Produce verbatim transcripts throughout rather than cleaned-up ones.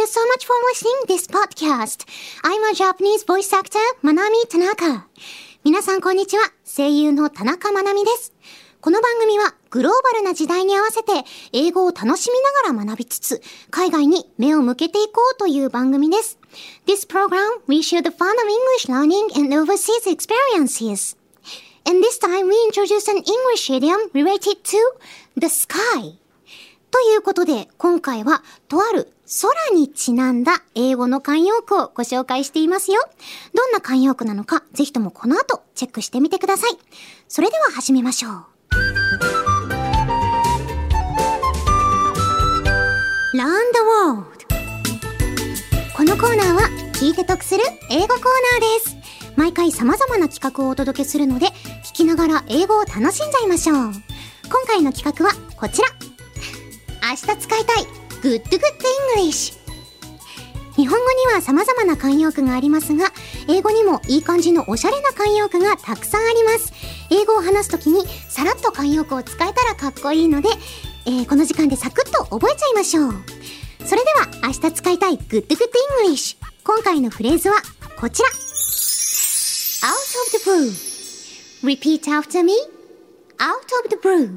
you so much for listening this podcast. I'm a Japanese voice actor, Manami Tanaka. 皆さんこんにちは。声優の田中まなみです。この番組はグローバルな時代に合わせて英語を楽しみながら学びつつ、海外に目を向けていこうという番組です。This program, we share the fun of English learning and overseas experiences. And this time we introduce an English idiom related to the sky. ということで、今回はとある空にちなんだ英語の慣用句をご紹介していますよ。どんな慣用句なのか、ぜひともこの後チェックしてみてください。それでは始めましょう。Learn the World。このコーナーは聞いて得する英語コーナーです。毎回様々な企画をお届けするので、聞きながら英語を楽しんじゃいましょう。今回の企画はこちら。明日使いたい Good Good English。日本語には様々な慣用句がありますが、英語にもいい感じのおしゃれな慣用句がたくさんあります。英語を話すときにさらっと慣用句を使えたらかっこいいので、えー、この時間でサクッと覚えちゃいましょう。それでは明日使いたい Good Good English。今回のフレーズはこちら。Out of the blue. Repeat after me. Out of the blue.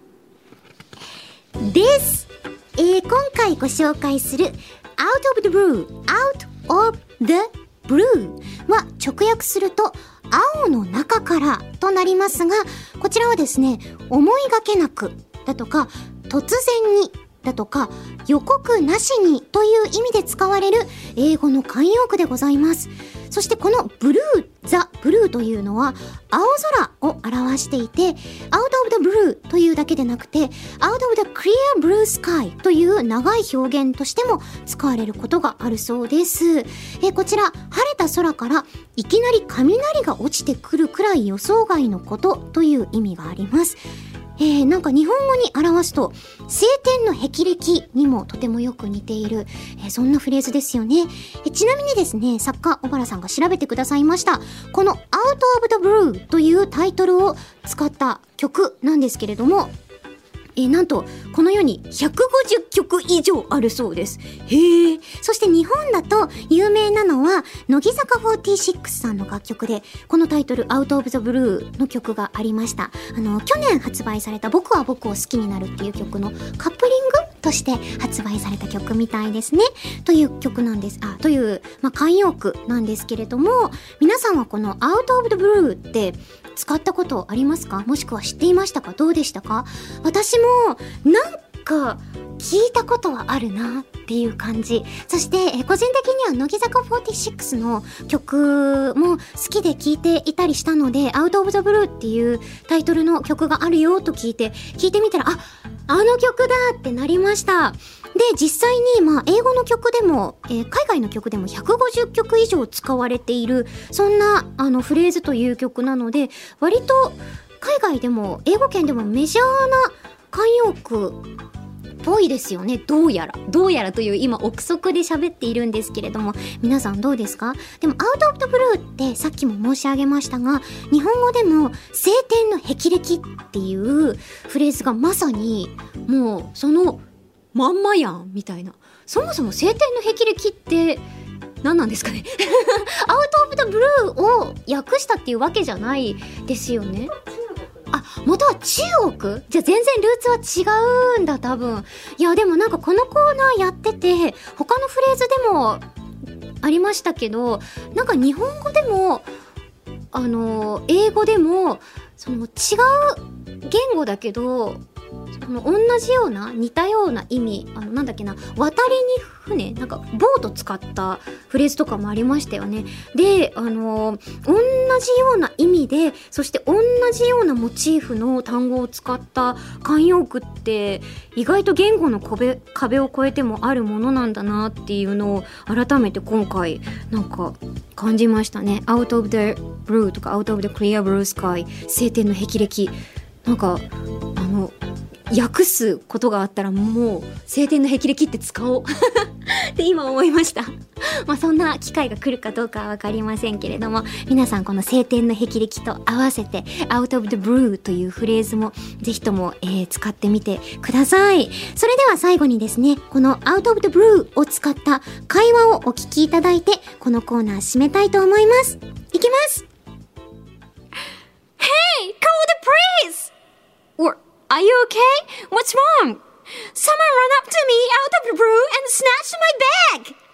です。えー、今回ご紹介する Out of the blue、Out of the blue は直訳すると青の中からとなりますが、こちらはですね、思いがけなくだとか突然にだとか予告なしにという意味で使われる英語の慣用句でございます。そしてこのブルー、ザ・ブルーというのは青空を表していて、Out of the blue というだけでなくて Out of the clear blue sky という長い表現としても使われることがあるそうです。えー、こちら晴れた空からいきなり雷が落ちてくるくらい予想外のことという意味があります。えー、なんか日本語に表すと晴天の霹靂にもとてもよく似ている、えー、そんなフレーズですよね。えー、ちなみにですね、作家小原さんが調べてくださいましたこの Out of the Blue というタイトルを使った曲なんですけれども、えー、なんとこの世にひゃくごじゅっきょく以上あるそうです。へえ。そして日本だと有名なのは乃木坂フォーティーシックスさんの楽曲で、このタイトル Out of the Blue の曲がありました。あの去年発売された僕は僕を好きになるっていう曲のカップリングとして発売された曲みたいですね。という曲なんです。あ、という、まあ、慣用句なんですけれども、皆さんはこの Out of the Blue って使ったことありますか？もしくは知っていましたか？どうでしたか？私もなんか聞いたことはあるなっていう感じ。そしてえ個人的には乃木坂フォーティーシックスの曲も好きで聴いていたりしたので、 Out of the Blue っていうタイトルの曲があるよと聞いて聞いてみたら、あ、あの曲だってなりました。で、実際にまあ英語の曲でも、えー、海外の曲でもひゃくごじゅっきょく以上使われている、そんなあのフレーズという曲なので、割と海外でも英語圏でもメジャーな慣用句っぽいですよね。どうやらどうやらという今憶測で喋っているんですけれども、皆さんどうですか？でも Out of the Blue ってさっきも申し上げましたが、日本語でも晴天の霹靂っていうフレーズがまさにもうそのまんまやんみたいな。そもそも晴天の霹靂って何なんですかねOut of the Blue を訳したっていうわけじゃないですよね。あ、元は中国？じゃあ全然ルーツは違うんだ多分。いやでもなんかこのコーナーやってて他のフレーズでもありましたけど、なんか日本語でもあの英語でもその違う言語だけどその同じような似たような意味、あのなんだっけな、渡りに船、なんかボート使ったフレーズとかもありましたよね。で、あの同じような意味で、そして同じようなモチーフの単語を使った慣用句って意外と言語の壁、壁を越えてもあるものなんだなっていうのを改めて今回なんか感じましたね。 Out of the blue とか Out of the clear blue sky、 晴天の霹靂、なんかあの訳すことがあったらもう青天の霹靂って使おうって今思いましたまあそんな機会が来るかどうかは分かりませんけれども、皆さんこの青天の霹靂と合わせて out of the blue というフレーズもぜひとも、えー、使ってみてください。それでは最後にですね、この out of the blue を使った会話をお聞きいただいて、このコーナー締めたいと思います。いきます。 Hey, call the police! Or Are you okay? What's wrong? Someone ran up to me out of the blue and snatched my bag!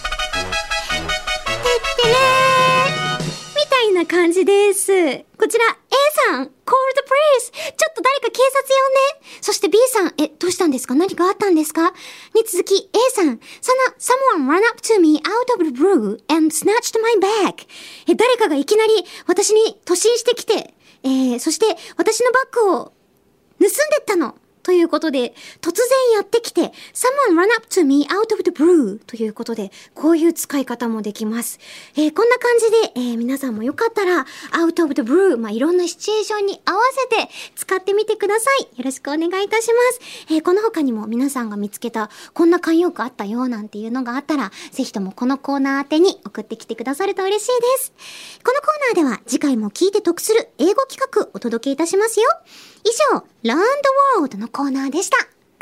てってれーみたいな感じです。こちら A さん、call the police! ちょっと誰か警察呼んで。そして B さん、え、どうしたんですか？何かあったんですか？に続き A さん、その someone ran up to me out of the blue and snatched my bag! え、誰かがいきなり私に突進してきて、えー、そして私のバッグを盗んでったのということで、突然やってきて Someone run up to me out of the blue ということで、こういう使い方もできます。えー、こんな感じで、えー、皆さんもよかったら out of the blue、まあ、いろんなシチュエーションに合わせて使ってみてください。よろしくお願いいたします。えー、この他にも皆さんが見つけたこんな慣用句あったよなんていうのがあったら、ぜひともこのコーナー宛てに送ってきてくださると嬉しいです。このコーナーでは次回も聞いて得する英語企画お届けいたしますよ。以上、Learn the World のコーナーでした。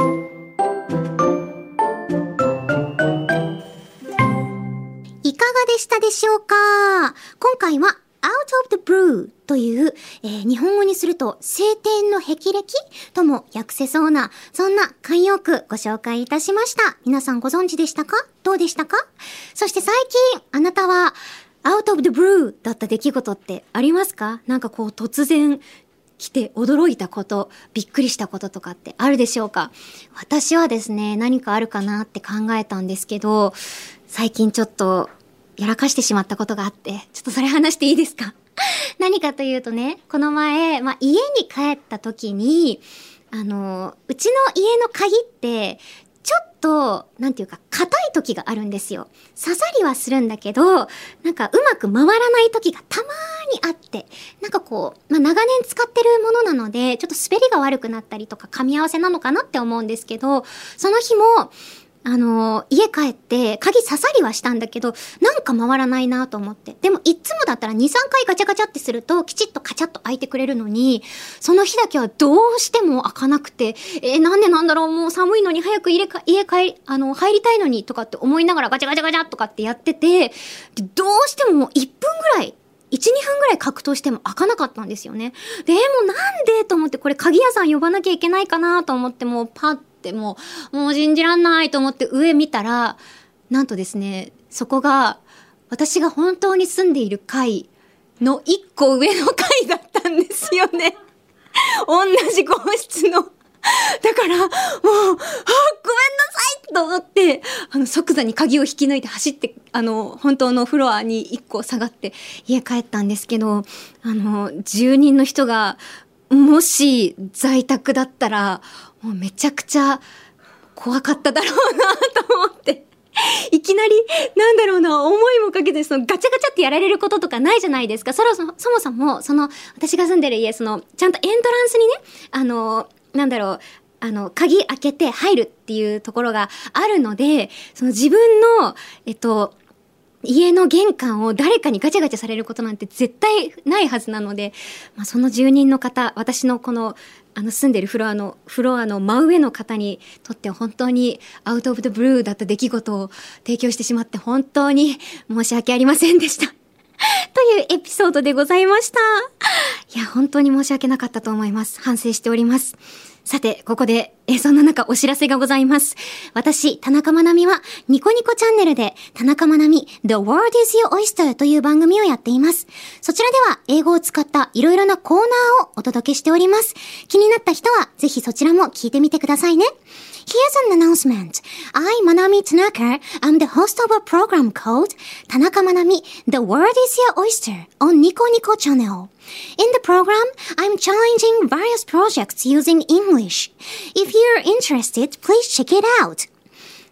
いかがでしたでしょうか？今回は Out of the Blue という、えー、日本語にすると青天の霹靂とも訳せそうな、そんな慣用句ご紹介いたしました。皆さんご存知でしたか？どうでしたか？そして最近あなたは Out of the Blue だった出来事ってありますか？なんかこう突然来て驚いたこと、びっくりしたこととかってあるでしょうか？私はですね、何かあるかなって考えたんですけど、最近ちょっとやらかしてしまったことがあって、ちょっとそれ話していいですか？何かというとね、この前、まあ、家に帰った時に、あの、うちの家の鍵って、ちょっと、なんていうか、硬い時があるんですよ。刺さりはするんだけど、なんかうまく回らない時がたまーにあって、なんかこう、まあ、長年使ってるものなので、ちょっと滑りが悪くなったりとか、噛み合わせなのかなって思うんですけど、その日も、あのー、家帰って鍵刺さりはしたんだけど、なんか回らないなと思って。でもいつもだったらに、さんかいガチャガチャってするときちっとカチャッと開いてくれるのに、その日だけはどうしても開かなくて、えー、なんでなんだろう、もう寒いのに早く家か家帰り、あの、入りたいのにとかって思いながらガチャガチャガチャとかってやってて、どうしてももういっぷんぐらい、いち、にふんぐらい格闘しても開かなかったんですよね。で、もうなんでと思って、これ鍵屋さん呼ばなきゃいけないかなと思って、もうパッてもう、もう信じらんないと思って上見たら、なんとですね、そこが私が本当に住んでいる階のいっこ上の階だったんですよね。同じ号室の。だから、もう、あ、ごめんなさいと思って、あの、即座に鍵を引き抜いて走って、あの、本当のフロアにいっこ下がって家帰ったんですけど、あの、住人の人が、もし在宅だったら、もうめちゃくちゃ怖かっただろうなと思って。いきなり、なんだろうな、思いもかけて、そのガチャガチャってやられることとかないじゃないですか。そろそも、そもそも、その、私が住んでる家、その、ちゃんとエントランスにね、あの、なんだろう、あの、鍵開けて入るっていうところがあるので、その自分の、えっと、家の玄関を誰かにガチャガチャされることなんて絶対ないはずなので、まあ、その住人の方、私のこの、あの住んでるフロアの、フロアの真上の方にとって本当にアウトオブザブルーだった出来事を提供してしまって本当に申し訳ありませんでした。というエピソードでございました。いや、本当に申し訳なかったと思います。反省しております。さて、ここで、え、そんな中お知らせがございます。私、田中まなみは、ニコニコチャンネルで、田中まなみ The World is Your Oyster という番組をやっています。そちらでは、英語を使ったいろいろなコーナーをお届けしております。気になった人は、ぜひそちらも聞いてみてくださいね。Here's an announcement. I, Manami Tanaka, am the host of a program called Tanaka Manami, The World is Your Oyster on Nico Nico channel. In the program, I'm challenging various projects using English. If you're interested, please check it out.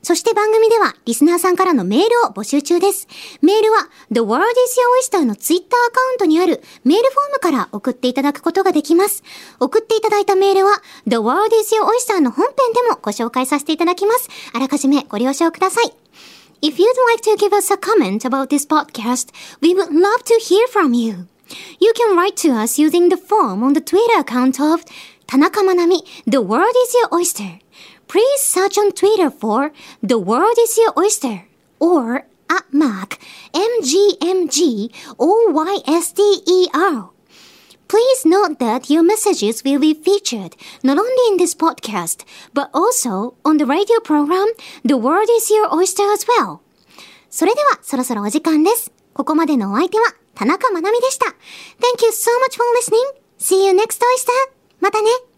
そして番組ではリスナーさんからのメールを募集中です。メールは The World is Your Oyster のツイッターアカウントにあるメールフォームから送っていただくことができます。送っていただいたメールは The World is Your Oyster の本編でもご紹介させていただきます。あらかじめご了承ください。If you'd like to give us a comment about this podcast, we would love to hear from you. You can write to us using the form on the Twitter account of 田中まなみ The World is Your Oyster.Please search on Twitter for The World is Your Oyster or at Mac M G M G O Y S T E R. Please note that your messages will be featured not only in this podcast but also on the radio program The World is Your Oyster as well. それではそろそろお時間です。ここまでのお相手は田中まなみでした。Thank you so much for listening. See you next oyster. またね。